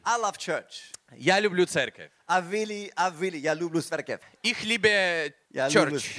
I love church. Я люблю церковь. Я люблю церковь. Ich liebe church.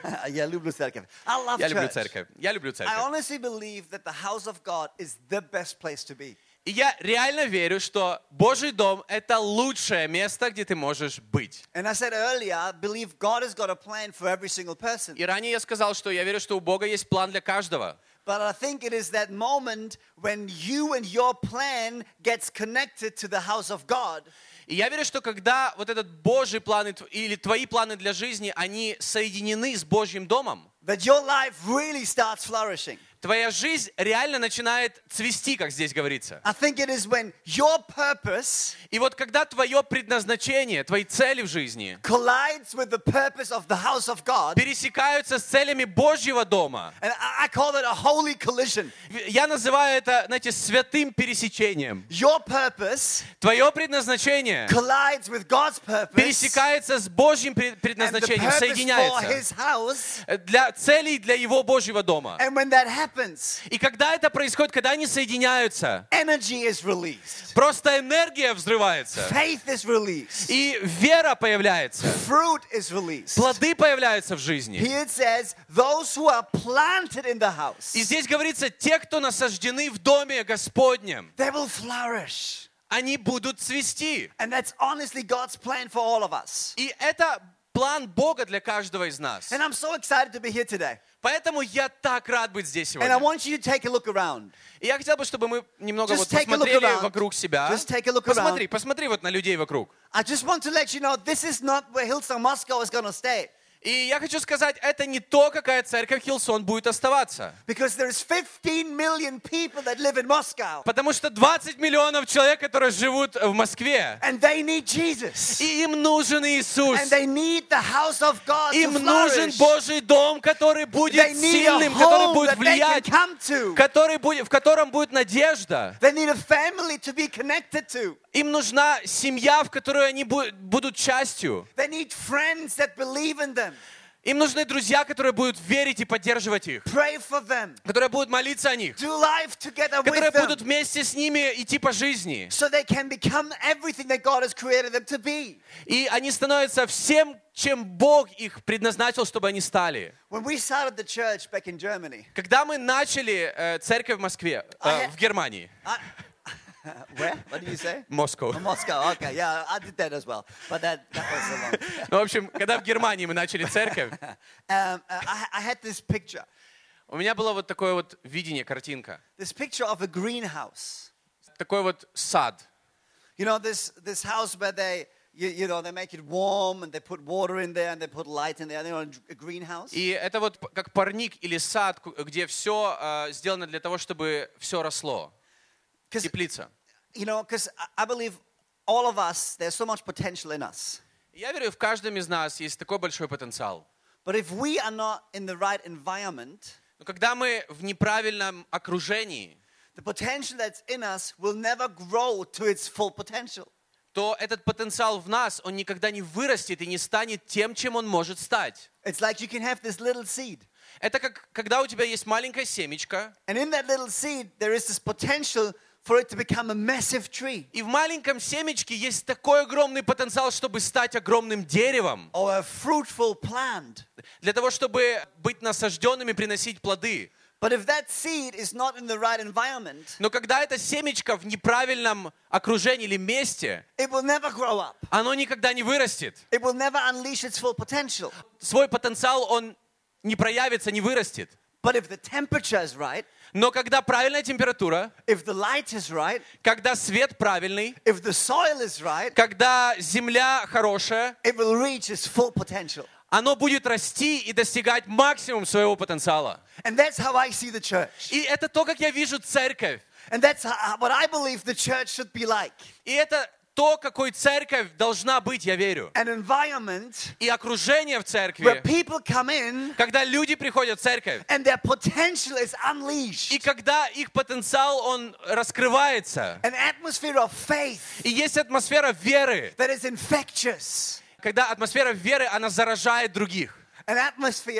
Я люблю церковь. I love Я люблю church. церковь. Я люблю I церковь. honestly believe that the house of God is the best place to be. И я реально верю, что Божий дом — это лучшее место, где ты можешь быть. And I said earlier, I believe God has got a plan for every single person. И ранее я сказал, что я верю, что у Бога есть план для каждого. But I think it is that moment when you and your plan gets connected to the house of God. И я верю, что когда вот этот Божий план или твои планы для жизни, они соединены с Божьим домом, That your life really starts flourishing. твоя жизнь реально начинает цвести, как здесь говорится. I think it is when your purpose И вот когда твое предназначение, твои цели в жизни collides with the purpose of the house of God, пересекаются с целями Божьего дома, and I call it a holy collision. я называю это, знаете, святым пересечением. Your purpose Твое предназначение collides with God's purpose пересекается с Божьим and the предназначением, purpose for соединяется His house. для целей для Его Божьего дома. And when that happens, И когда это происходит, когда они соединяются, energy is released. просто энергия взрывается, Faith is released. и вера появляется, Fruit is released. плоды появляются в жизни. Here it says, those who are planted in the house, И здесь говорится, те, кто насаждены в доме Господнем, they will flourish. они будут цвести. And that's honestly God's plan for all of us. И это план Бога для каждого из нас. And I'm so excited to be here today. Поэтому я так рад быть здесь And I сегодня. want you to take a look around. И я хотел бы, чтобы мы немного Just вот take a look посмотрели around. вокруг себя. Just take a look around. Посмотри вот на людей вокруг. I just want to let you know this is not where Hillsong Moscow is going to stay. И я хочу сказать, это не то, какая церковь Хиллсон будет оставаться. Because there's 15 million people that live in Moscow. Потому что 20 миллионов человек, которые живут в Москве. And they need Jesus. И им нужен Иисус. And they need the house of God Им to нужен flourish. Божий дом, который будет They need a сильным, который home будет that they can влиять, come to. в котором будет надежда. They need a family to be connected to. Им нужна семья, в которой они будут частью. They need friends that believe in them. Им нужны друзья, которые будут верить и поддерживать их. Pray for them. Которые будут молиться о них. Do life together Которые with them. будут вместе с ними идти по жизни. So they can become everything that God has created them to be. И они становятся всем, чем Бог их предназначил, чтобы они стали. When we started the church back in Germany, Когда мы начали церковь в Москве, в Германии. where? What did you say? Moscow. Moscow. Okay, yeah, I did that as well, but that was so long. Ну, в общем, когда в Германии мы начали церковь, I had this picture. у меня было вот такое вот видение, картинка. This picture of a greenhouse. Такой вот сад. You know, this house where they, you know, they make it warm and they put water in there and they put light in there. You know, a greenhouse. И это вот как парник или сад, где все сделано для того, чтобы все росло. Теплица. You know, because I believe all of us, there's so much potential in us. Я верю, в каждом из нас есть такой большой потенциал. But if we are not in the right environment, Но когда мы в неправильном окружении, the potential that's in us will never grow to its full potential. то этот потенциал в нас, он никогда не вырастет и не станет тем, чем он может стать. It's like you can have this little seed. Это как когда у тебя есть маленькое семечко, And in that little seed, there is this potential for it to become a massive tree. и в маленьком семечке есть такой огромный потенциал, чтобы стать огромным деревом, Or a fruitful plant. для того, чтобы быть насажденным и приносить плоды. But if that seed is not in the right environment, Но когда это семечко в неправильном окружении или месте, it will never grow up. оно никогда не вырастет. It will never unleash its full potential. Свой потенциал он не проявится, не вырастет. But if the temperature is right, Но когда правильная температура, if the light is right, когда свет правильный, if the soil is right, когда земля хорошая, it will reach its full potential. оно будет расти и достигать максимум своего потенциала. And that's how I see the church. И это то, как я вижу церковь. And that's what I believe the church should be like. И это то, какой церковь должна быть, я верю. An environment И окружение в where церкви, people come in когда люди приходят в церковь, and their potential is unleashed. и когда их потенциал, он раскрывается, An atmosphere of faith и есть атмосфера веры, that is infectious. когда атмосфера веры, она заражает других. An atmosphere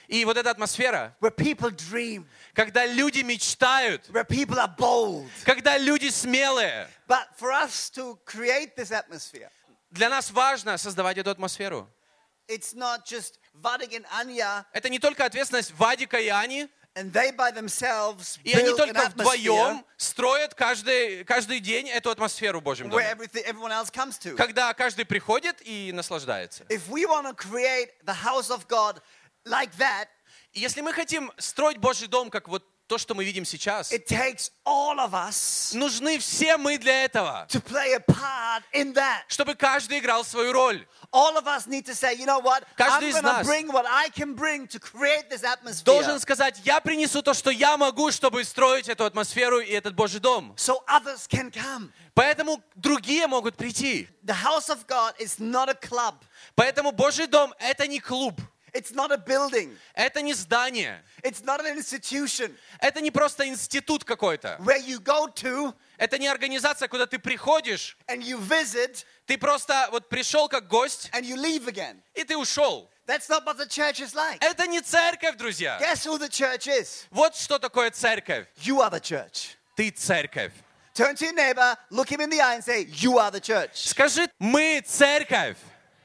И вот эта атмосфера, where people dream, когда люди мечтают, where people are bold. когда люди смелые. But for us to create this atmosphere, Для нас важно создавать эту атмосферу. it's not just Vadik and Anya, Это не только ответственность Вадика и Ани, and they by themselves и они build an только atmosphere вдвоем строят каждый день эту атмосферу в Божьем where доме. everyone else comes to. Когда каждый приходит и наслаждается. If we want to create the house of God like that, И если мы хотим строить Божий дом, как вот то, что мы видим сейчас, it takes all of us нужны все мы для этого, to play a part in that. чтобы каждый играл свою роль. All of us need to say, you know what? Каждый I'm из going to нас bring what I can bring to create this atmosphere. Должен сказать, я принесу то, что я могу, чтобы строить эту атмосферу и этот Божий дом. So others can come. Поэтому другие могут прийти. The house of God is not a club. Поэтому Божий дом — это не клуб, It's not a building. это не здание, It's not an institution это не просто институт какой-то. where you go to Это не организация, куда ты приходишь, and you visit ты просто вот пришел как гость, and you leave again. и ты ушел. That's not what the church is like. Это не церковь, друзья. Guess who the church is? Вот что такое церковь. You are the church. Ты церковь. Turn to your neighbor, look him in the eye and say, you are the church. Скажи, мы церковь.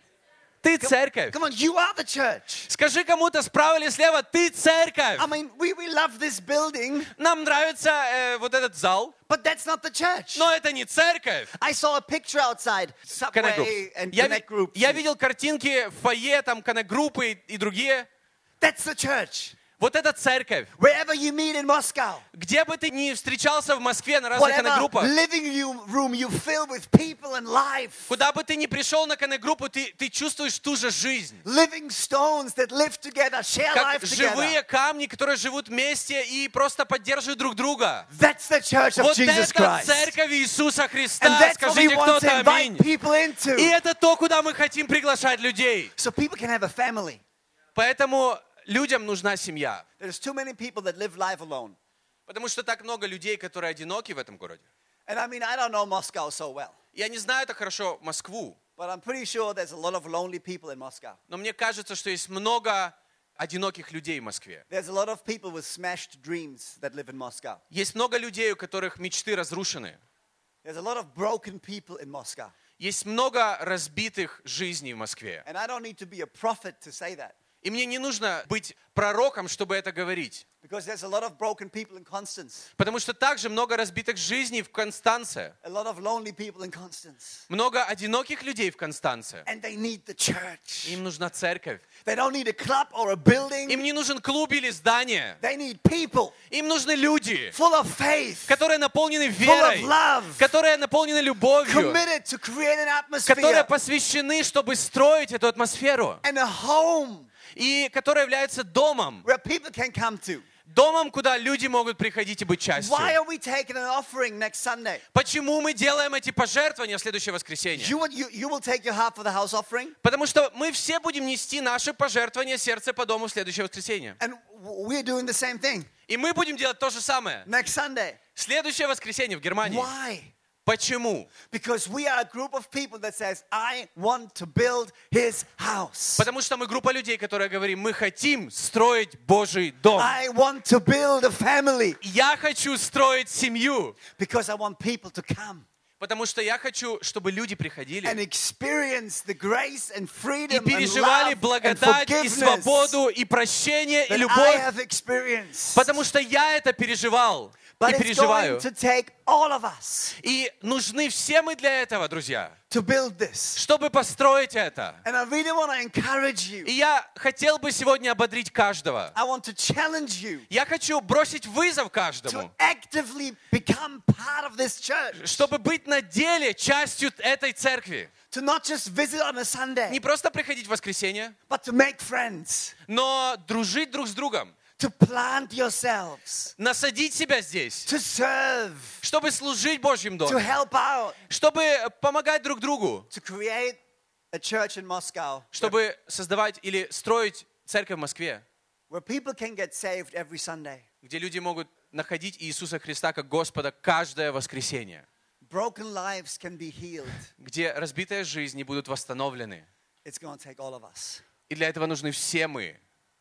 Ты церковь. Come on, you are the church. Скажи кому-то справа или слева, ты церковь. I mean, we love this building, Нам нравится вот этот зал, but that's not the church. но это не церковь. I saw a picture outside, Connect Subway Groups. and Я, Connect Groups. я видел картинки в фойе, там Connect-группы и другие. That's the church. Вот это церковь. Wherever you meet in Moscow, Где бы ты ни встречался в Москве на разных whatever Connect-группах, living room you fill with people and life, куда бы ты ни пришел на Connect-группу, ты чувствуешь ту же жизнь. living stones that live together, share Как life together. живые камни, которые живут вместе и просто поддерживают друг друга. That's the church of Вот Jesus это Christ. церковь Иисуса And Христа. that's what we Скажите want to кто-то аминь. invite people into. И это то, куда мы хотим приглашать людей. So people can have a family. Поэтому людям нужна семья. There's too many people that live life alone. Потому что так много людей, которые одиноки в этом городе. And I mean, I don't know Moscow so well, Я не знаю так хорошо Москву, but I'm pretty sure there's a lot of lonely people in Moscow. но мне кажется, что есть много одиноких людей в Москве. There's a lot of people with smashed dreams that live in Moscow. Есть много людей, у которых мечты разрушены. There's a lot of broken people in Moscow. Есть много разбитых жизней в Москве. And I don't need to be a prophet to say that. И мне не нужно быть пророком, чтобы это говорить. Because there's a lot of broken people in Constance. Потому что также много разбитых жизней в Констанце. A lot of lonely people in Constance. Много одиноких людей в Констанце. And they need the church. Им нужна церковь. They don't need a club or a building. Им не нужен клуб или здание. They need people Им нужны люди, full of faith, которые наполнены full of верой, love, которые наполнены любовью, committed to create an которые atmosphere посвящены, чтобы строить эту атмосферу, and a home и которые являются домом, where people can come to. домом, куда люди могут приходить и быть частью. Why are we taking an offering next Sunday? Почему мы делаем эти пожертвования в следующее воскресенье? You will take your half for the house offering, Потому что мы все будем нести наши пожертвования сердце по дому в следующее воскресенье. and we're doing the same thing И мы будем делать то же самое. next Sunday. Следующее воскресенье в Германии. Why? Почему? Because we are a group of people that says, I want to build his house. Потому что мы группа людей, которые говорим, мы хотим строить Божий дом. I want to build a family Я хочу строить семью, because I want people to come потому что я хочу, чтобы люди and приходили experience the grace and и freedom and переживали love and благодать и forgiveness свободу, и прощение, и that I любовь, have experienced. потому что я это переживал и But it's переживаю. going to take all of us И нужны все мы для этого, друзья, to build this. чтобы построить это. And I really want to encourage И you. я хотел бы сегодня ободрить каждого. I want to challenge you Я хочу бросить вызов to каждому, actively become part of this church. чтобы быть на деле частью этой церкви. To not just visit on a Не Sunday, просто приходить в воскресенье, but to make friends. но дружить друг с другом, To plant yourselves. насадить себя здесь, To serve. чтобы служить в Божьем To доме, help out. чтобы помогать друг другу, To create a church in Moscow чтобы создавать или строить церковь в Москве, where people can get saved every Sunday. где люди могут находить Иисуса Христа как Господа каждое воскресенье, Broken lives can be healed. где разбитые жизни будут восстановлены. It's going to take all of us. И для этого нужны все мы.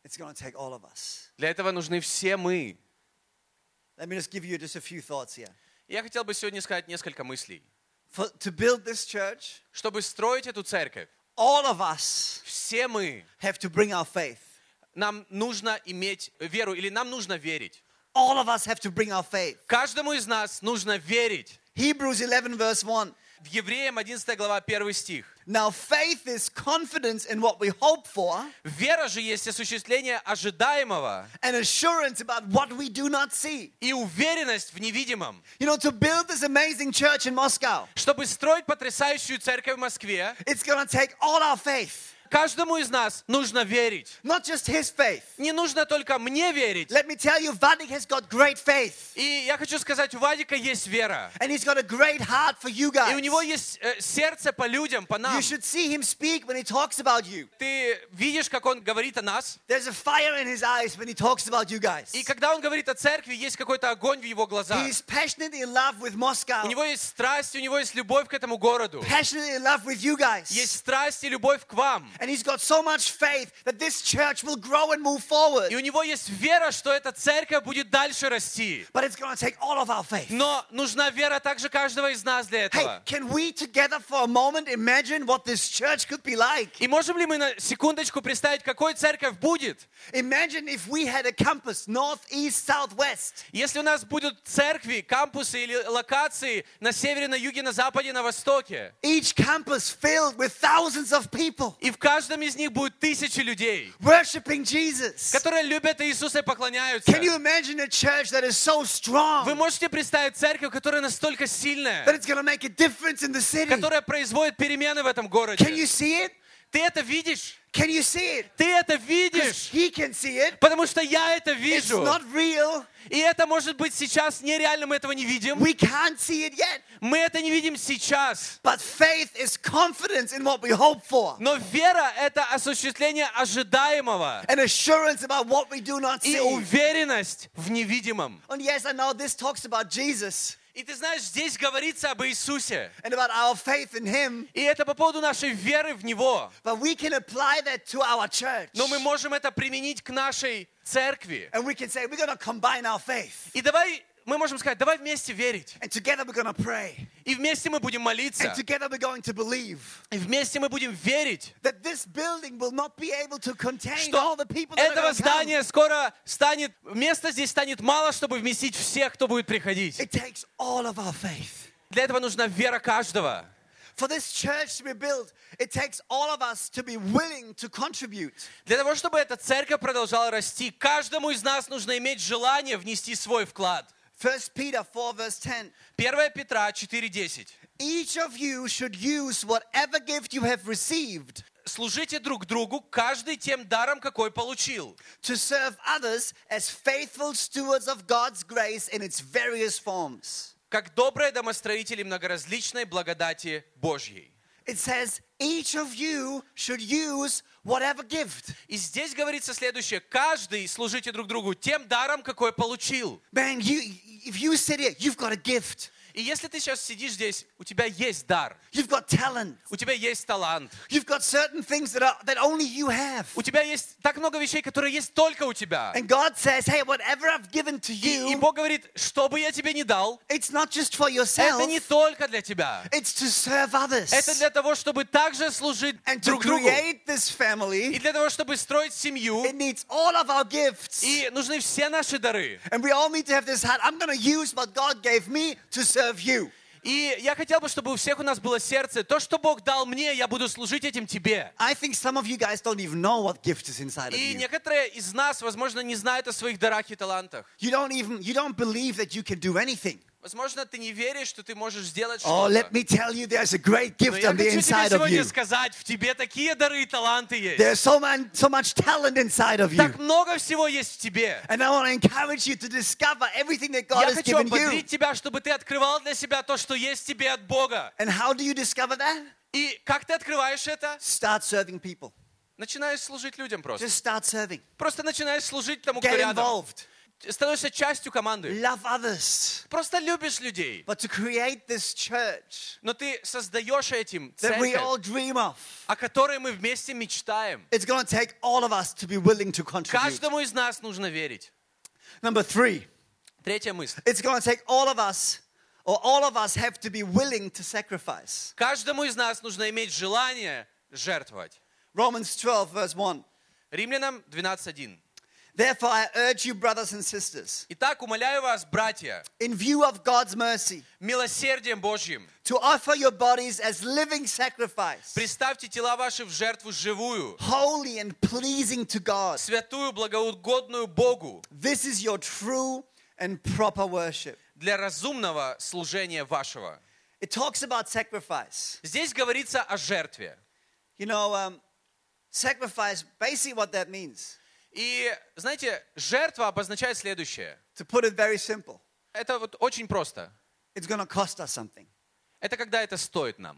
It's going to take all of us. Для этого нужны все мы. Let me just give you just a few thoughts here. Я хотел бы сегодня сказать несколько мыслей. To build this church, Чтобы строить эту церковь, all of us все мы, have to bring our faith. нам нужно иметь веру, или нам нужно верить. All of us have to bring our faith. Каждому из нас нужно верить. Hebrews 11 verse 1. В Евреям 11 глава 1 стих. Now faith is confidence in what we hope for Вера же есть осуществление ожидаемого and assurance about what we do not see. и уверенность в невидимом. You know, to build this amazing church in Moscow, Чтобы строить потрясающую церковь в Москве, it's going to take all our faith. каждому из нас нужно верить. Not just his faith. Не нужно только мне верить. Let me tell you, Vadik has got great faith. И я хочу сказать, у Вадика есть вера. And he's got a great heart for you И у guys. него есть сердце по людям, по нам. You should see him speak when he talks about you. Ты видишь, как он говорит о нас. There's a fire in his eyes when he talks about you guys. И когда он говорит о церкви, есть какой-то огонь в его глазах. He's passionately in love with Moscow. У него есть страсть, у него есть любовь к этому городу. Passionately in love with you guys. Есть страсть и любовь к вам. And he's got so much faith that this church will grow and move forward. И у него есть вера, что эта церковь будет дальше расти. But it's going to take all of our faith. Но нужна вера также каждого из нас для Hey, этого. can we together for a moment imagine what this church could be like? И можем ли мы на секундочку представить, какой церковь будет? Imagine if we had a campus, north, east, south, west. Если у нас будут церкви, кампусы или локации на севере, на юге, на западе, на востоке, Each campus filled with thousands of people и в каждом из них будет тысячи людей, worshiping Jesus. которые любят Иисуса и поклоняются. Can you imagine a church that is so Вы strong можете представить церковь, которая настолько that сильная, it's going to make a difference in the city? которая производит перемены в этом Can городе? you see it? Ты это видишь? Can you see it? Ты это 'Cause видишь? he can see it. Потому что я это It's вижу. not real. И это может быть сейчас нереально, мы этого не видим. We can't see it yet. Мы это не видим сейчас. But faith is confidence in what we hope for Но вера — это осуществление ожидаемого and assurance about what we do not и see. уверенность в невидимом. And yes, I know this talks about Jesus И ты знаешь, здесь говорится об Иисусе. and about our faith in Him, И это по поводу нашей веры в Него. but we can apply that to our church. Но мы можем это применить к нашей церкви. And we can say, we're going to combine our faith. И мы можем сказать, давай вместе верить. And together we're going to pray. И вместе мы будем молиться. And together we're going to believe И вместе мы будем верить, that this building will not be able to contain что all the people that are этого going to come. здания скоро станет, места здесь станет мало, чтобы вместить всех, кто будет приходить. It takes all of our faith. Для этого нужна вера каждого. For this church to be built, it takes all of us to be willing to contribute. Для того, чтобы эта церковь продолжала расти, каждому из нас нужно иметь желание внести свой вклад. 1 Peter 4 verse 10. 1 Петра 4:10. Each of you should use whatever gift you have received Служите друг другу, каждый тем даром, какой получил, to serve others as faithful stewards of God's grace in its various forms. как добрые домостроители многоразличной благодати Божьей. It says, each of you should use whatever gift. И здесь говорится следующее. Каждый служите друг другу тем даром, какой получил. Man, if you sit here, you've got a gift. И если ты сейчас сидишь здесь, у тебя есть дар, You've got talent. у тебя есть талант, You've got certain things that only you have. у тебя есть так много вещей, которые есть только у тебя. And God says, hey, whatever I've given to И you, Бог говорит, что бы я тебе не дал, it's not just for это yourself, не только для тебя. it's to serve others. Это для того, чтобы также служить And to друг другу. create this И family, для того, чтобы строить семью, it needs all of our gifts. и нужны все наши дары. And we all need to have this heart. I'm going to use what God gave me to serve you. И я хотел бы, чтобы у всех у нас было сердце. То, что Бог дал мне, я буду служить этим тебе. I think some of you guys don't even know what gift is inside of И you. некоторые из нас, возможно, не знают о своих дарах и талантах. You don't believe that you can do anything. Возможно, ты не веришь, что ты можешь сделать Oh, что-то. let me tell you, there's a great Но gift я on the хочу тебе inside of сегодня you. сказать, в тебе такие дары и таланты есть. There's so much talent inside of you. Так много всего есть в тебе. And I want to encourage you to discover everything that God Я has хочу given you. ободрить тебя, чтобы ты открывал для себя то, что есть в тебе от Бога. And how do you discover that? И как ты открываешь это? Start serving people. Начинаешь служить людям просто. Just start serving. Просто начинаешь служить тому, кто Get рядом. involved. становишься частью команды. love others. Просто любишь людей. But to create this church Но ты создаешь этим that we церковь, all dream of, о которой мы вместе мечтаем. it's going to take all of us to be willing to contribute. Каждому из нас нужно верить. Number 3, Третья мысль. it's going to take all of us, or all of us have to be willing to sacrifice. Каждому из нас нужно иметь желание жертвовать. Romans 12, verse 1. Римлянам 12:1. Therefore, I urge you, brothers and sisters, Итак, умоляю вас, братья, in view of God's mercy, милосердием Божьим, to offer your bodies as living sacrifice, представьте тела ваши в жертву живую, holy and pleasing to God. святую, благоугодную Богу, This is your true and proper worship. для разумного служения вашего. It talks about sacrifice. Здесь говорится о жертве. You know, sacrifice, basically what that means, И, знаете, жертва обозначает следующее. to put it very simple, Это вот очень просто. it's going to cost us something. Это когда это стоит нам.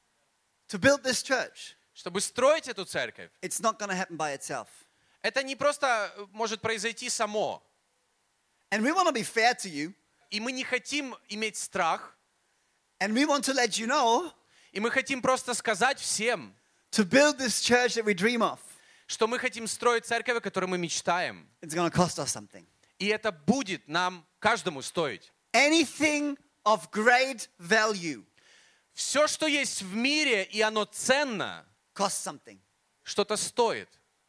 To build this church, Чтобы строить эту церковь, it's not going to happen by itself. это не просто может произойти само. And we want to be fair to you, И мы не хотим иметь страх, and we want to let you know, и мы хотим просто сказать всем, to build this church that we dream of, что мы хотим строить церковь, о которой мы мечтаем. it's going to cost us something. И это будет нам, каждому, стоить. Anything of great value Все, что есть в мире, и оно ценно, costs something. что-то стоит.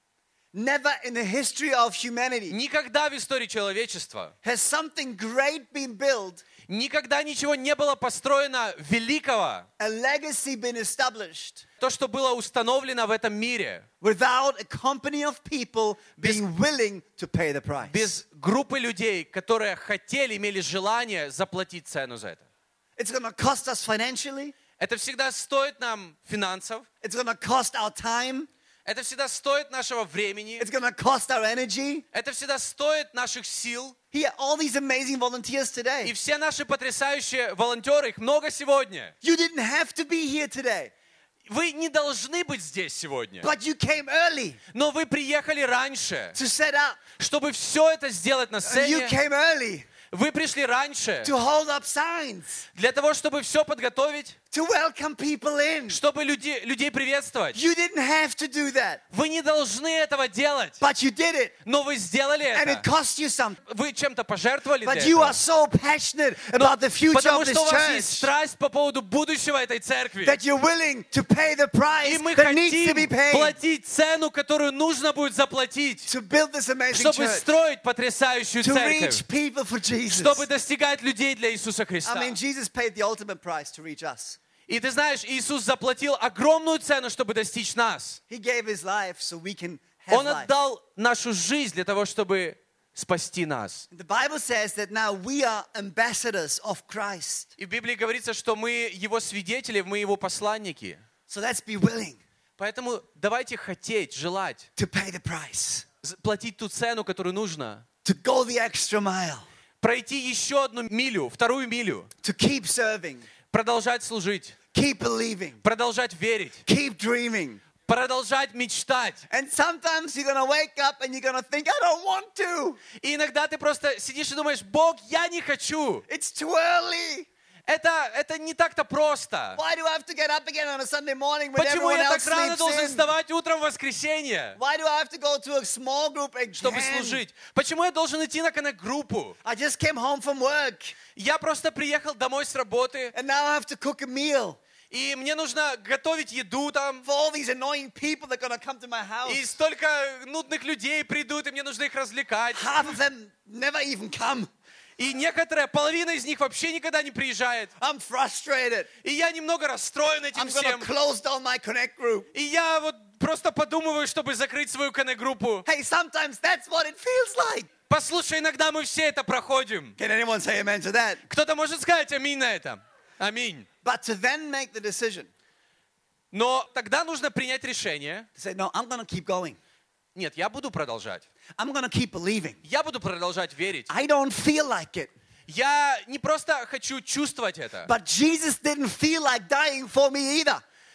Never in the history of humanity Никогда в истории человечества, has something great been built, никогда ничего не было построено великого, a legacy been established, то, что было установлено в этом мире, without a company of people being willing to pay the price. без группы людей, которые хотели, имели желание заплатить цену за это. It's going to cost us financially. Это всегда стоит нам финансов, It's going to cost our time. это всегда стоит нашего времени, It's going to cost our energy. это всегда стоит наших сил. Here, all these amazing volunteers И today. все наши потрясающие волонтеры, их много сегодня. You didn't have to be here today, Вы не должны быть здесь сегодня, but you came early но вы приехали раньше, to set up. чтобы все это сделать на And you сцене. came early Вы пришли раньше to hold up signs, для того, чтобы все подготовить, to welcome people in. чтобы людей приветствовать. You didn't have to do that, Вы не должны этого делать, but you did it, но вы сделали and it это. cost you something. Вы чем-то пожертвовали для But you are этого. so passionate about the future Потому of this что у вас есть church страсть по поводу будущего этой церкви. that you're willing to pay the price И мы that needs to be хотим paid платить цену, которую нужно будет заплатить, to build this amazing чтобы church, строить потрясающую to церковь, reach people for Jesus. чтобы достигать людей для Иисуса Христа. I mean, Jesus paid the ultimate price to reach us. И ты знаешь, Иисус заплатил огромную цену, чтобы достичь нас. He gave his life so we can have Он life. отдал нашу жизнь для того, чтобы спасти нас. The Bible says that now we are ambassadors of Christ. И в Библии говорится, что мы Его свидетели, мы Его посланники. So let's be willing Поэтому давайте хотеть, желать, to pay the price, платить ту цену, которую нужно, to go the extra mile, пройти еще одну милю, вторую милю, to keep serving, продолжать служить, keep believing, продолжать верить, keep dreaming. продолжать мечтать. And sometimes you're going to wake up and you're going to think, I don't want to. И иногда ты просто сидишь и думаешь: Бог, я не хочу. It's too early. Это не так-то просто. Why do I have to get up again on a Sunday morning when Почему everyone я else так рано sleeps должен in? вставать утром в воскресенье, Why do I have to go to a small group чтобы again? служить? Почему я должен идти на коннект-группу? I just came home from work Я просто приехал домой с работы, and now I have to cook a meal и мне нужно готовить еду там, for all these annoying people that are going to come to my house. и столько нудных людей придут, и мне нужно их развлекать. Half of them never even come. И половина из них вообще никогда не приезжает. I'm frustrated. И я немного расстроен этим I'm going всем. to close down my connect group. И я вот просто подумываю, чтобы закрыть свою коннект-группу. Hey, sometimes that's what it feels like. Послушай, иногда мы все это проходим. Can anyone say amen to that? Кто-то может сказать аминь на это? Аминь. But to then make the decision Но тогда нужно принять решение. to say, no, I'm going to keep going. Нет, я буду продолжать. I'm going to keep believing. Я буду продолжать верить. I don't feel like it. Я не просто хочу чувствовать это. But Jesus didn't feel like dying for me either. Ты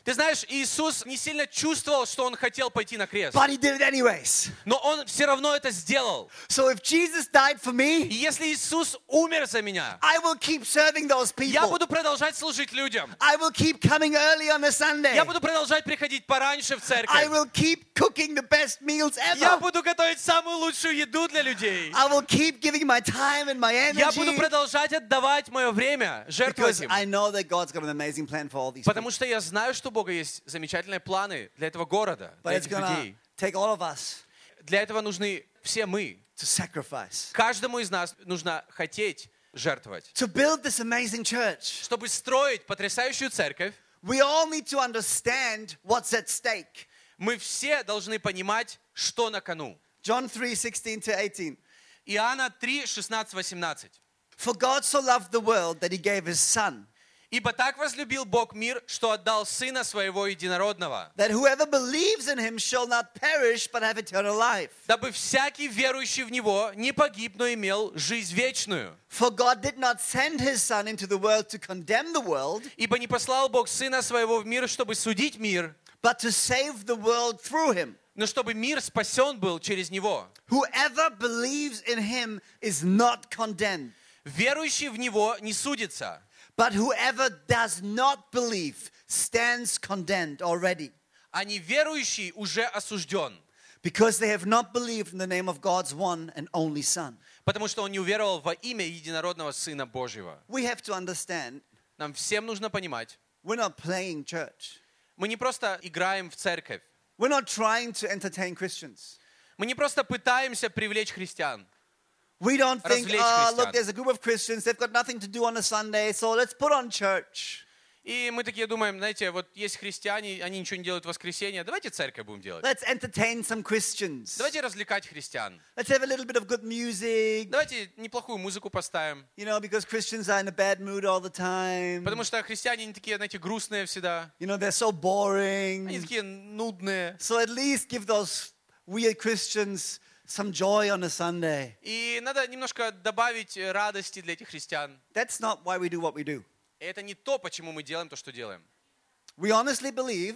Ты знаешь, Иисус не сильно чувствовал, что Он хотел пойти на крест. but he did it anyways. Но Он все равно это сделал. So if Jesus died for И me, если Иисус умер за меня, I will keep serving those я people. буду продолжать служить людям. I will keep coming early on a Sunday. Я буду продолжать приходить пораньше в I церковь. will keep cooking the best meals Я ever. буду готовить самую лучшую еду для людей. I will keep giving my time and my Я буду energy продолжать отдавать мое время, жертвовать because им. I know that God's got an amazing plan for all these people. Потому что я знаю, что у Бога есть замечательные планы для этого города, But для it's этих going to людей. take all of us Для этого нужны все мы. to sacrifice. Каждому из нас нужно хотеть жертвовать. To build this amazing church, Чтобы строить потрясающую церковь, we all need to understand what's at stake. мы все должны понимать, что на кону. John 3:16-18. Иоанна 3, 16, 18. For God so loved the world that he gave his son, «Ибо так возлюбил Бог мир, что отдал Сына Своего Единородного, that whoever believes in him shall not perish but have eternal life. дабы всякий верующий в Него не погиб, но имел жизнь вечную. For God did not send his son into the world to condemn the world, Ибо не послал Бог Сына Своего в мир, чтобы судить мир, but to save the world through him. но чтобы мир спасен был через Него. Whoever believes in him is not condemned, Верующий в Него не судится, but whoever does not believe stands condemned already, а неверующий уже осужден, because they have not believed in the name of God's one and only Son. потому что он не уверовал во имя Единородного Сына Божьего. We have to understand, Нам всем нужно понимать, we're not playing church. мы не просто играем в церковь, We're not trying to entertain Christians. мы не просто пытаемся привлечь христиан. We don't think, Развлечь oh, look, христиан. there's a group of Christians, they've got nothing to do on a Sunday, so let's put on church. И мы такие думаем, знаете, вот есть христиане, они ничего не делают в воскресенье, давайте церковь будем делать. Let's entertain some Christians. Давайте развлекать христиан. Let's have a little bit of good music, Давайте неплохую музыку поставим. you know, because Christians are in a bad mood all the time. Потому что христиане, они такие, знаете, грустные всегда. You know, they're so Они boring. такие нудные. So at least give those weird Christians some joy on a Sunday. И надо немножко добавить радости для этих христиан. That's not why we do what we do. И это не то, почему мы делаем то, что делаем. We honestly believe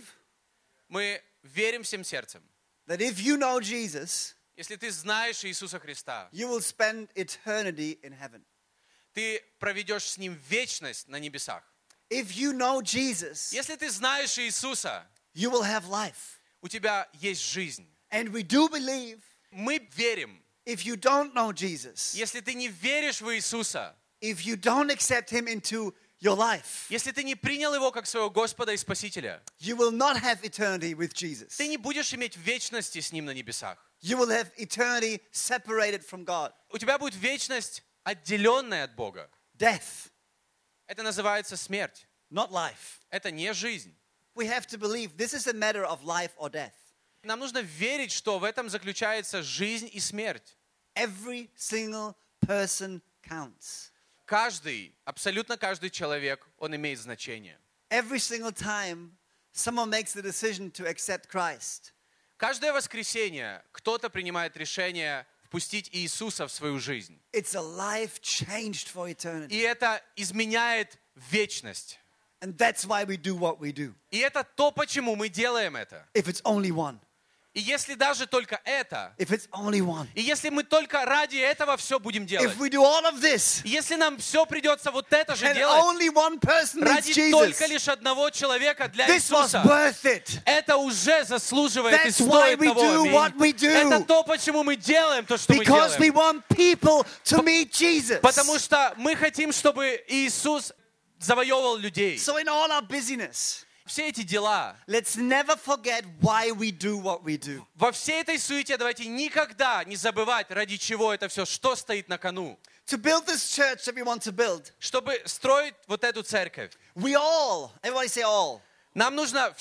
Мы верим всем сердцем. that if you know Jesus, Если ты знаешь Иисуса Христа, you will spend eternity in heaven. ты проведешь с Ним вечность на небесах. If you know Jesus, Если ты знаешь Иисуса, you will have life. у тебя есть жизнь. And we do believe Мы верим. if you don't know Jesus, Если ты не веришь в Иисуса, if you don't accept him into your life, если ты не принял Его как своего Господа и Спасителя, you will not have eternity with Jesus. ты не будешь иметь вечности с Ним на небесах. You will have eternity separated from God. У тебя будет вечность, отделенная от Бога. Death, Это называется смерть. not life. Это не жизнь. We have to believe this is a matter of life or death. Нам нужно верить, что в этом заключается жизнь и смерть. Every single person counts. Каждый, абсолютно каждый человек, он имеет значение. Every single time someone makes the decision to accept Christ, Каждое воскресенье кто-то принимает решение впустить Иисуса в свою жизнь. it's a life changed for eternity. И это изменяет вечность. And that's why we do what we do. И это то, почему мы делаем это. If it's only one. И если даже только это, If it's only one. и если мы только ради этого все будем делать, If we do all of this, и если нам все придется вот это же and делать, only one person needs ради только Jesus, лишь одного человека для this was Иисуса, worth it. это уже заслуживает и That's why стоит we того. do Аминь. what we do. Это то, почему мы делаем то, что мы Because we делаем. want people to meet Jesus. Потому что мы хотим, чтобы Иисус завоевывал людей. So in all our busyness, Все эти дела, let's never forget why we do what we do. во всей этой суете давайте никогда не забывать, ради чего это все, что стоит на кону. To build this church that we want to build, Чтобы строить вот эту церковь, we all, everybody say all. нам нужно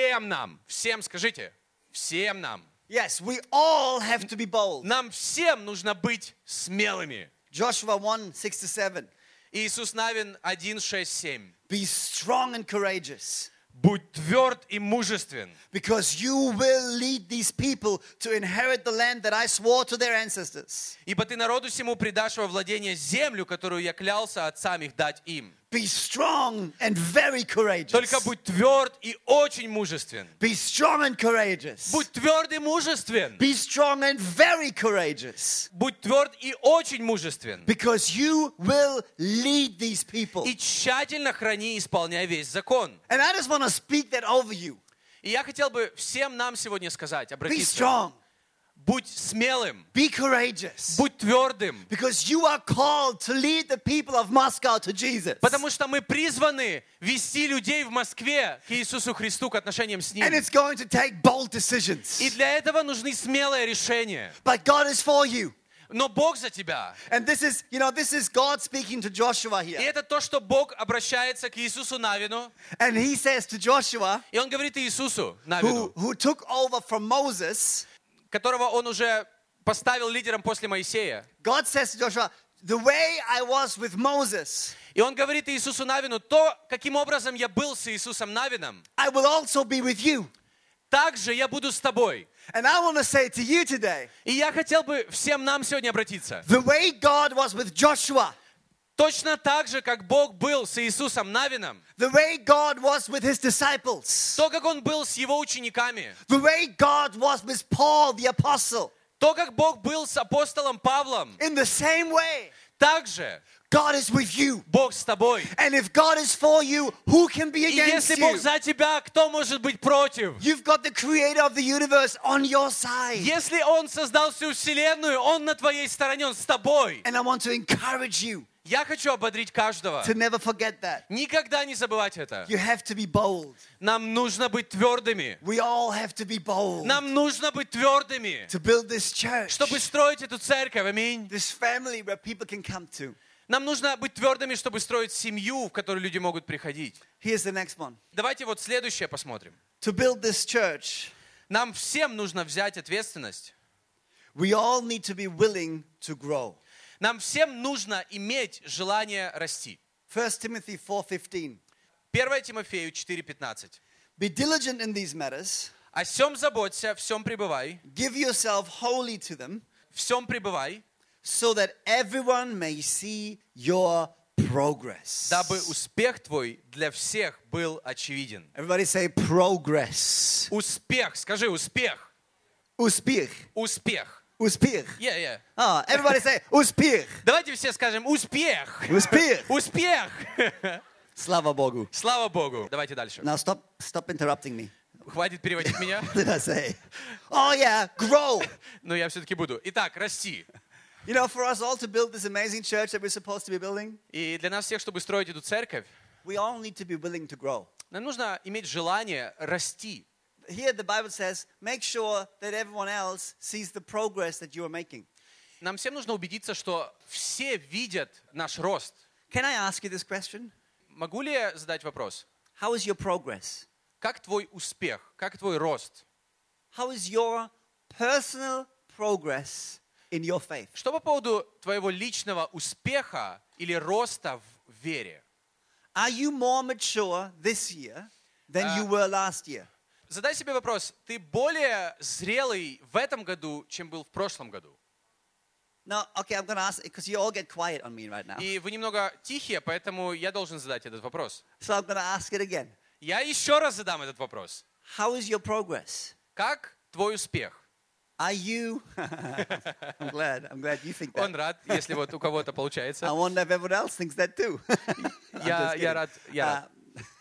всем скажите, всем нам. Yes, we all have to be bold. Нам всем нужно быть смелыми. Joshua 1:6-7. Иисус Навин 1, 6, 7. Be strong and courageous, Будь тверд и мужествен, because you will lead these people to inherit the land that I swore to their ancestors. ибо ты народу сему предашь во владение землю, которую я клялся отцам их дать им. Be strong and very courageous. Только будь тверд и очень мужествен. Be strong and courageous. Будь тверд и мужествен. Be strong and very courageous. Будь тверд и очень мужествен. Because you will lead these people. И тщательно храни и исполняй весь закон. And I just want to speak that over you. И я хотел бы всем нам сегодня сказать, Be обратиться. strong. Будь смелым. Be courageous. Будь твердым. Because you are called to lead the people of Moscow to Jesus. Потому что мы призваны вести людей в Москве к Иисусу Христу, к отношениям с Ним. And it's going to take bold decisions. И для этого нужны смелые решения. But God is for you. Но Бог за тебя. And this is God speaking to Joshua И here. это то, что Бог обращается к Иисусу Навину. And he says to Joshua, И Он говорит Иисусу Навину, who took over from Moses, которого Он уже поставил лидером после Моисея. God says to Joshua, the way I was with Moses, И Он говорит Иисусу Навину, то, каким образом я был с Иисусом Навином, I will also be with you. так же я буду с тобой. And I want to say to you today, И я хотел бы всем нам сегодня обратиться. the way God was with Joshua, Точно так же, как Бог был с Иисусом Навином, the way God was with his disciples, то, как Он был с Его учениками, the way God was with Paul the apostle, то, как Бог был с апостолом Павлом, in the same way, так же God is with you. Бог с тобой. And if God is for you, who can be И against если Бог you? за тебя, кто может быть против? You've got the creator of the universe on your side. Если Он создал всю вселенную, Он на твоей стороне, Он с тобой. And I want to encourage you Я хочу ободрить каждого. to never forget that. Никогда не забывать это. You have to be bold. Нам нужно быть твердыми. We all have to be bold Нам нужно быть твердыми, to build this church, чтобы строить эту церковь. Аминь. this family where people can come to. Нам нужно быть твердыми, чтобы строить семью, в которую люди могут приходить. Here's the next one. Давайте вот следующее посмотрим. To build this church, Нам всем нужно взять ответственность. we all need to be willing to grow. Нам всем нужно иметь желание расти. 1 Timothy 4:15. 1 Тимофею 4:15. Be diligent in these matters. О всем заботься, всем пребывай, Give yourself wholly to them, всем пребывай, so that everyone may see your progress. дабы успех твой для всех был очевиден. Everybody say progress. Успех, скажи успех. Успех. Успех. Успех. Yeah. Oh, everybody say успех. Давайте все скажем успех. Успех. Успех. Слава Богу. Слава Богу. Давайте дальше. Now stop interrupting me. Хватит переводить меня. What did I say? Oh yeah, grow. Но я все-таки буду. Итак, расти. You know, for us all to build this amazing church that we're supposed to be building, И для нас всех, чтобы строить эту церковь, we all need to be willing to grow. нам нужно иметь желание расти. Here the Bible says, make sure that everyone else sees the progress that you are making. Нам всем нужно убедиться, что все видят наш рост. Can I ask you this question? Могу ли я задать вопрос? How is your progress? Как твой успех? Как твой рост? How is your personal progress in your faith? Что по поводу твоего личного успеха или роста в вере? Are you more mature this year than you were last year? Задай себе вопрос, ты более зрелый в этом году, чем был в прошлом году? Now, okay, I'm going to ask, because you all get quiet on me right now. И вы немного тихие, поэтому я должен задать этот вопрос. So I'm going to ask it again. Я еще раз задам этот вопрос. How is your progress? Как твой успех? Are you... I'm glad you think that. Он рад, если вот у кого-то I получается. wonder if everyone else thinks that too. I'm just Я kidding. рад.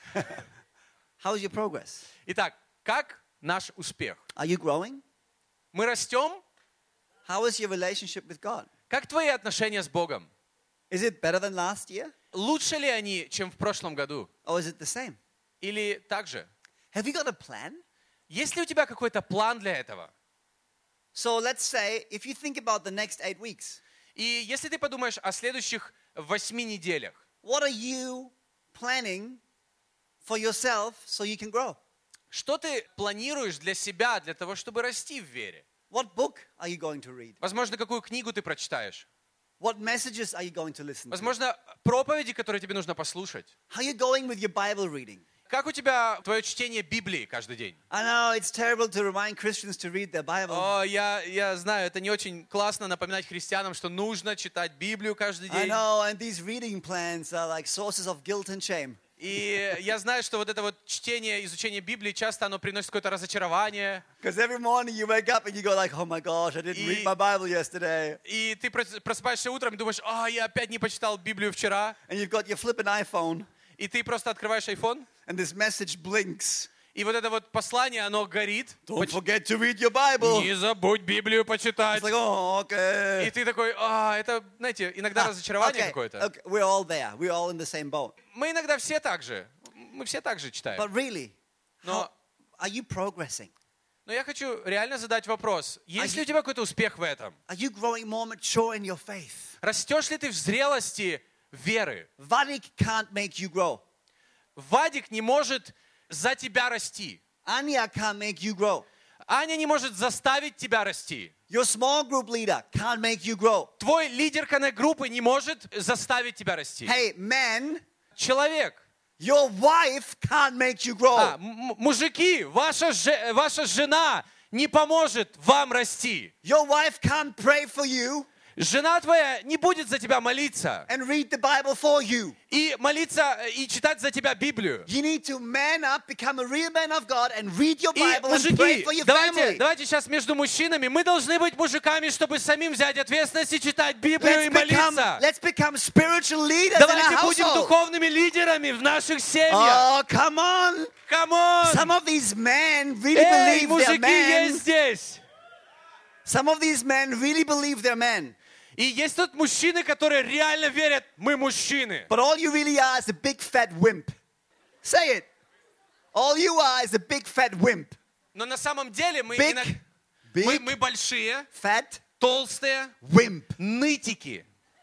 How is your progress? Итак, как наш успех? Are you growing? Мы растем? How is your relationship with God? Как твои отношения с Богом? Is it better than last year? Лучше ли они, чем в прошлом году? Or is it the same? Или так же? Have you got a plan? Есть ли у тебя какой-то план для этого? So let's say, if you think about the next 8 weeks, И если ты подумаешь о следующих 8 неделях, what are you planning for yourself so you can grow? что ты планируешь для себя, для того, чтобы расти в вере? What book are you going to read? Возможно, какую книгу ты прочитаешь? What messages are you going to listen to? Возможно, проповеди, которые тебе нужно послушать? How are you going with your Bible reading? Как у тебя твое чтение Библии каждый день? I know it's terrible to remind Christians to read their Bible. О, я знаю, это не очень классно напоминать христианам, что нужно читать Библию каждый I день. know, and these reading plans are like sources of guilt and shame. И я знаю, что вот это вот чтение, изучение Библии, часто оно приносит какое-то разочарование. Because every morning you wake up and you go like, oh my gosh, I didn't read my Bible yesterday. И ты просыпаешься утром и думаешь, я опять не почитал Библию вчера. And you've got your flipping iPhone И ты просто открываешь iPhone, and this message blinks. и вот это вот послание, оно горит. Don't forget to read your Bible. Не забудь Библию почитать. It's like, oh, okay. И ты такой, это, знаете, иногда разочарование какое-то. Okay, we're all there. We're all in the same boat. Мы иногда все так же. Мы все так же читаем. But really, Но, are you progressing? но я хочу реально задать вопрос. Есть ли у тебя какой-то успех в этом? Are you growing more mature in your faith? Растешь ли ты в зрелости веры? Vadik can't make you grow. Вадик не может за тебя расти. Anya can't make you grow. Аня не может заставить тебя расти. Your small group leader can't make you grow. Твой лидер коннект-группы не может заставить тебя расти. Hey, men, Человек. your wife can't make you grow. Мужики, ваша жена не поможет вам расти. Your wife can't pray for you Жена твоя не будет за тебя молиться and read the Bible for you. и молиться и читать за тебя Библию. You need to man up, become a real man of God and read your И, Bible and pray мужики, for your family. давайте сейчас между мужчинами, мы должны быть мужиками, чтобы самим взять ответственность и читать Библию и молиться. Let's become spiritual leaders in our Давайте будем household. духовными лидерами в наших семьях. Oh, come on. Come on! Some of these men really Эй, believe they're мужики men. есть здесь. Some of these men really believe they're men. И есть тут мужчины, которые реально верят, мы мужчины. But all you really are is a big fat wimp. Say it. All you are is a big fat wimp. Но на самом деле мы Big, большие, fat толстые, wimp. нытики.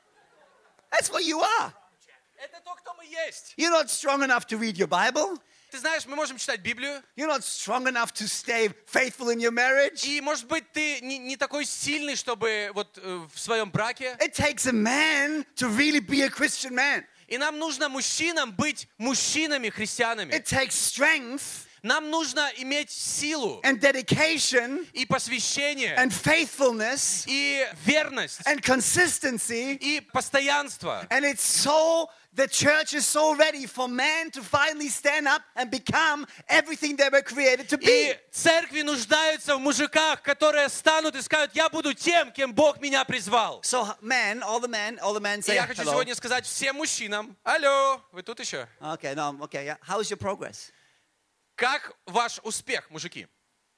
That's what you are. Это то, кто мы есть. You're not strong enough to read your Bible. Ты знаешь, мы можем читать Библию, You're not strong enough to stay faithful in your marriage. и, может быть, ты не такой сильный, чтобы вот в своем браке. It takes a man to really be a Christian man. И нам нужно мужчинам быть мужчинами, христианами. It takes strength Нам нужно иметь силу and dedication и посвящение, and faithfulness и верность, and consistency. и постоянство. And the church is so ready for man to finally stand up and become everything they were created to be. И церкви нуждаются в мужиках, которые станут и скажут, я буду тем, кем Бог меня призвал. So men, all the men И say я хочу hello. сегодня сказать всем мужчинам, алло, вы тут еще? Okay, no, okay, yeah. How's your progress? Как ваш успех, мужики?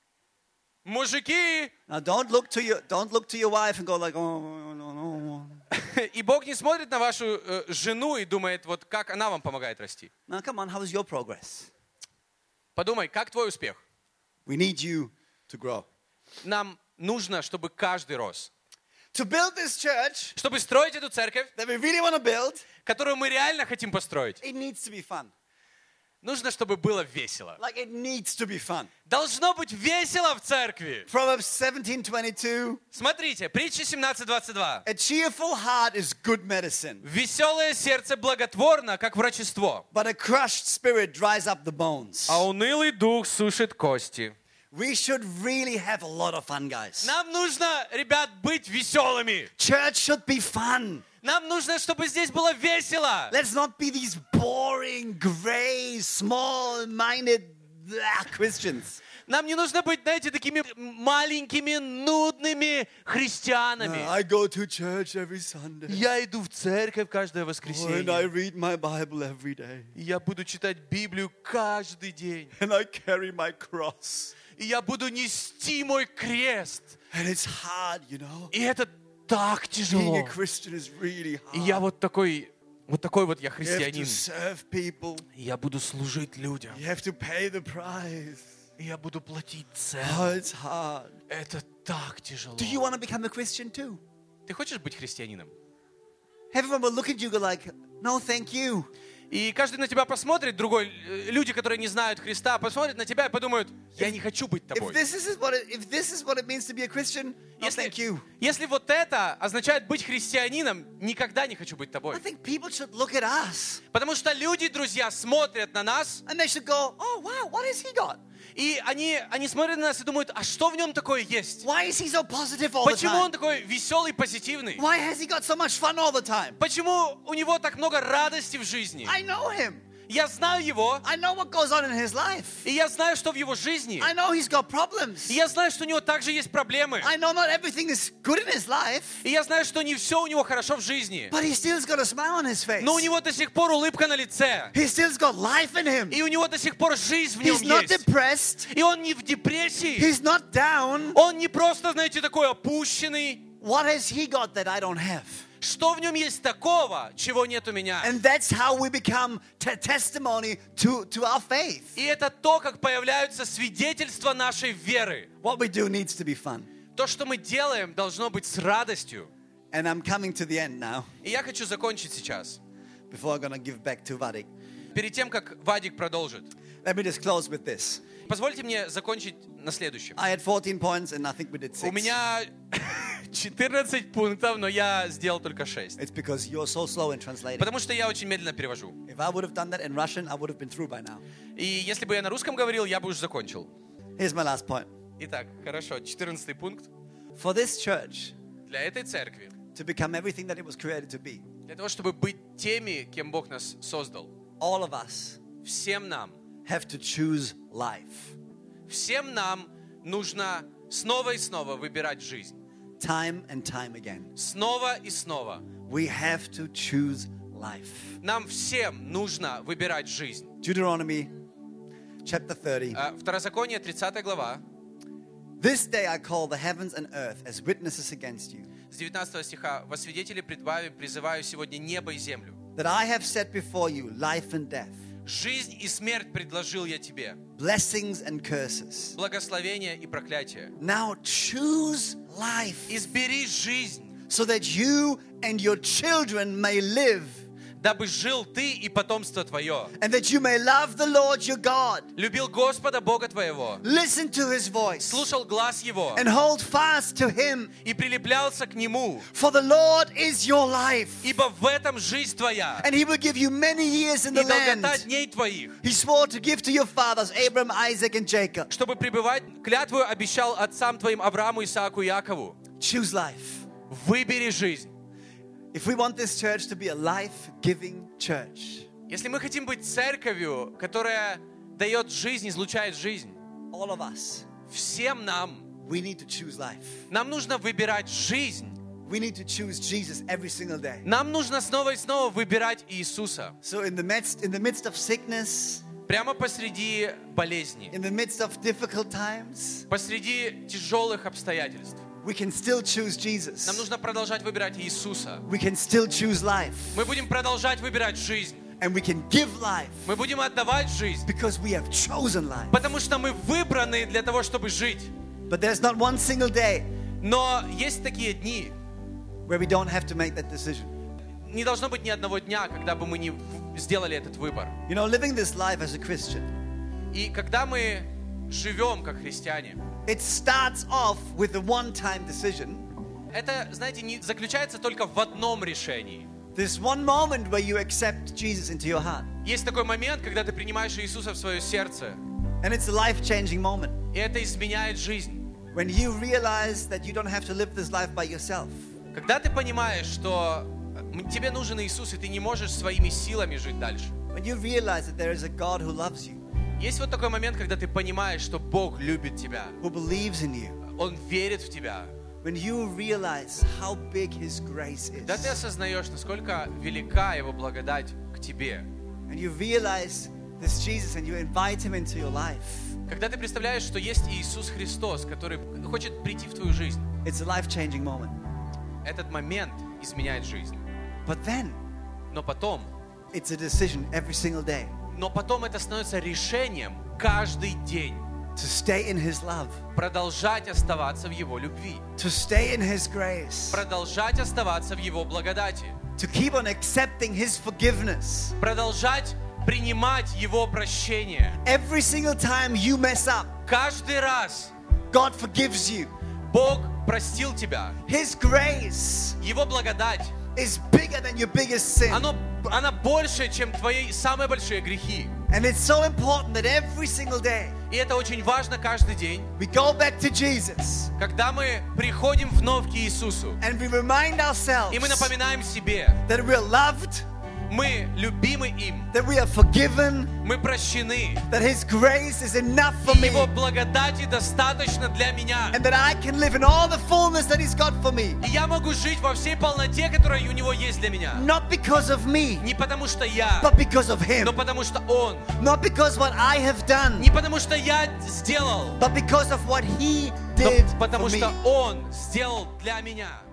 Мужики! Now don't look to your wife and go like, oh, no. И Бог не смотрит на вашу жену и думает, вот как она вам помогает расти. Now come on, how is your progress? Подумай, как твой успех? We need you to grow. Нам нужно, чтобы каждый рос. To build this church Чтобы строить эту церковь, that we really want to build, которую мы реально хотим построить, it needs to be fun. нужно, чтобы было весело. Like it needs to be fun. Должно быть весело в церкви. Proverbs 17:22. Смотрите, притча 17:22. A cheerful heart is good medicine, Веселое сердце благотворно, как врачество, but a crushed spirit dries up the bones. а унылый дух сушит кости. We should really have a lot of fun, guys. Нам нужно, ребят, быть веселыми. Church should be fun. Нам нужно, чтобы здесь было весело. Let's not be these boring, gray, small-minded Christians. Нам не нужно быть, знаете, такими маленькими, нудными христианами. I go to church every Sunday. Я иду в церковь каждое And I воскресенье. read my Bible every day. И я буду читать Библию каждый день. And I carry my cross. И я буду нести мой крест. And it's hard, you know. И это так Being тяжело. a Christian is really И я hard. вот такой вот я You have to христианин. serve people. И я буду служить людям. You have to pay the price. И я буду платить цену. Oh, it's hard. Это так тяжело. Do you want to become a Christian too? Ты хочешь быть христианином? Everyone will look at you and go like, no, thank you. И каждый на тебя посмотрит, другой, люди, которые не знают Христа, посмотрят на тебя и подумают, я не хочу быть If тобой. this is what it means to be a Christian, no, thank you. Если вот это означает быть христианином, никогда не хочу быть I тобой. think people should look at us Потому что люди, друзья, смотрят на нас, and they should go, oh wow, what has he got? и они смотрят на нас и думают, а что в нем такое есть? Why is he so positive all the Почему он time? такой веселый, позитивный? Why has he got so much fun all the time? Почему у него так много радости в жизни? I know him. Я знаю его, I know what goes on in his life. и я знаю, что в его жизни. I know he's got problems. И я знаю, что у него также есть проблемы. I know not everything is good in his life, И я знаю, что не все у него хорошо в жизни. but he still's got a smile on his face. Но у него до сих пор улыбка на лице. He still's got life in him. И у него до сих пор жизнь в нем He's not есть. depressed. И он не в депрессии. He's not down. Он не просто, знаете, такой опущенный. What has he got that I don't have? Что в нем есть такого, чего нет у меня? And that's how we become testimony to our faith. И это то, как появляются свидетельства нашей веры. What we do needs to be fun. То, что мы делаем, должно быть с радостью. And I'm coming to the end now, И я хочу закончить сейчас. before I'm going to give back to Vadik. Перед тем, как Вадик продолжит. Let me just close with this. Позвольте мне закончить на следующем. I had 14 points and I think we did 6. У меня 14 пунктов, но я сделал только 6. It's because you're so slow in translating. Потому что я очень медленно перевожу. If I would have done that in Russian, I would have been through by now. И если бы я на русском говорил, я бы уже закончил. Here's my last point. Итак, хорошо, 14 пункт. For this church Для этой церкви, to become everything that it was created to be, для того, чтобы быть теми, кем Бог нас создал, all of us всем нам have to choose life. Всем нам нужно снова и снова выбирать жизнь. Time and time again. Снова и снова. We have to choose life. Нам всем нужно выбирать жизнь. Deuteronomy chapter 30. Второзаконие, 30 глава, This day I call the heavens and earth as witnesses against you, с 19 стиха. «Во свидетели пред вами призываю сегодня небо и землю. that I have set before you life and death, Жизнь и смерть предложил я тебе, blessings and curses. благословение и проклятие. Now choose life Избери жизнь, so that you and your children may live, дабы жил ты и потомство твое. and that you may love the Lord your God, Любил Господа Бога твоего, listen to his voice, слушал глаз Его and hold fast to him. и прилеплялся к Нему. For the Lord is your life, Ибо в этом жизнь твоя and he will give you many years in и the land долгота дней твоих. he swore to give to your fathers, Abraham, Isaac, and Jacob. Чтобы пребывать, клятву обещал отцам твоим Аврааму, Исааку и Якову. Choose life. Выбери жизнь. If we want this church to be a life-giving church, Если мы хотим быть церковью, которая дает жизнь, излучает жизнь, all of us, всем нам, we need to choose life. нам нужно выбирать жизнь. We need to choose Jesus every single day. Нам нужно снова и снова выбирать Иисуса. So in the midst of sickness, Прямо посреди болезни, in the midst of difficult times, посреди тяжелых обстоятельств, we can still choose нам Jesus. нужно продолжать выбирать Иисуса. We can still choose life. Мы будем продолжать выбирать жизнь. And we can give life Мы будем отдавать жизнь, because we have chosen life. потому что мы выбраны для того, чтобы жить. But there's not one single day Но есть такие дни, where we don't have to make that decision. не должно быть ни одного дня, когда бы мы не сделали этот выбор. You know, living this life as a Christian, И когда мы живем как христиане, it starts off with a one-time decision. это, знаете, не заключается только в одном решении. There's one moment where you accept Jesus into your heart. Есть такой момент, когда ты принимаешь Иисуса в свое сердце, And it's a life-changing moment. и это изменяет жизнь. When you realize that you don't have to live this life by yourself. Когда ты понимаешь, что тебе нужен Иисус, и ты не можешь своими силами жить дальше. When you realize that there is a God who loves you, Есть вот такой момент, когда ты понимаешь, что Бог любит тебя. who believes in you. Он верит в тебя. When you realize how big His grace is. Когда ты осознаешь, насколько велика Его благодать к тебе. And you realize this Jesus and you invite Him into your life. Когда ты представляешь, что есть Иисус Христос, который хочет прийти в твою жизнь. It's a life-changing moment. Этот момент изменяет жизнь. But then, Но потом it's a decision every single day это становится решением каждый день to stay in His love, продолжать оставаться в Его любви, to stay in His grace, продолжать оставаться в Его благодати, to keep on accepting His forgiveness. продолжать принимать Его прощение. Every single time you mess up, Каждый раз God forgives you. Бог простил тебя. His grace Его благодать, is bigger than your biggest sin. она больше, чем твои самые большие грехи. And it's so important that every single day И это очень важно каждый день, we go back to Jesus когда мы приходим вновь к Иисусу, and we remind ourselves и мы напоминаем себе, that we're loved, мы любимы им, that we are forgiven, мы прощены, that His grace is enough for и me, Его благодати достаточно для меня. and that I can live in all the fullness that He's got for me. И я могу жить во всей полноте, которая у Него есть для меня. Not because of me, Не потому что я, but because of но Him. потому что Он. Not because what I have done, Не потому что я сделал, but because of what He но did потому for me. что Он сделал для меня.